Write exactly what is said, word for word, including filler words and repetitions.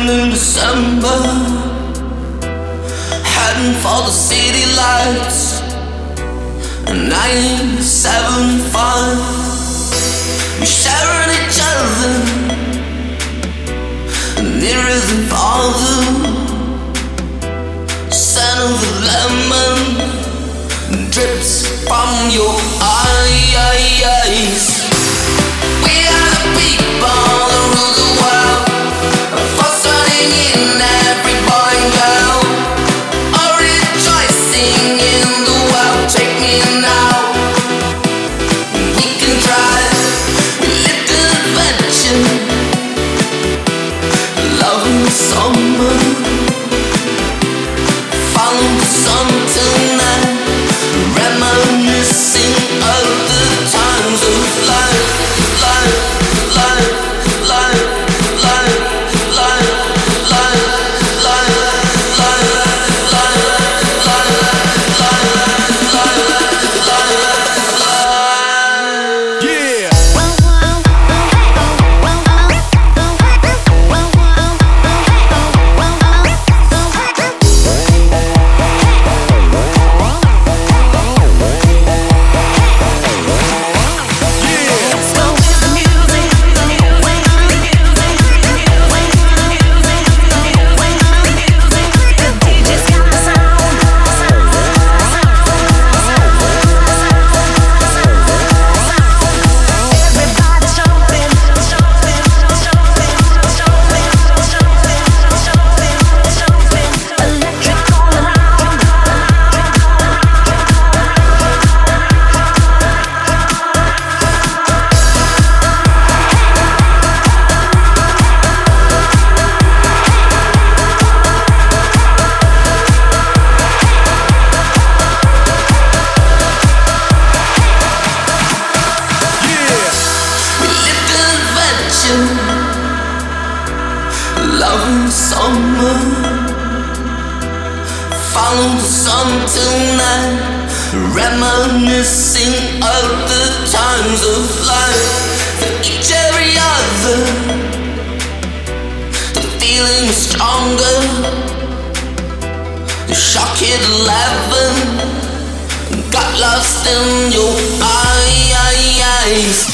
in December, heading for the city lights. Nine, seven, five. We sharing each other, nearer than farther. Scent of the lemon drips from your eyes. We are the people that rule the world, frustrating in every boy and girl, all rejoicing in the world. Take me now, we can try, we live the adventure, love in the summer, follow the sun tonight, reminiscing of the times of life, life, life, life, life, life, life, life, life, life, love in the summer, follow the sun tonight, reminiscing of the times of life. For each every other, the feeling is stronger. The shock hit eleven, got lost in your eyes.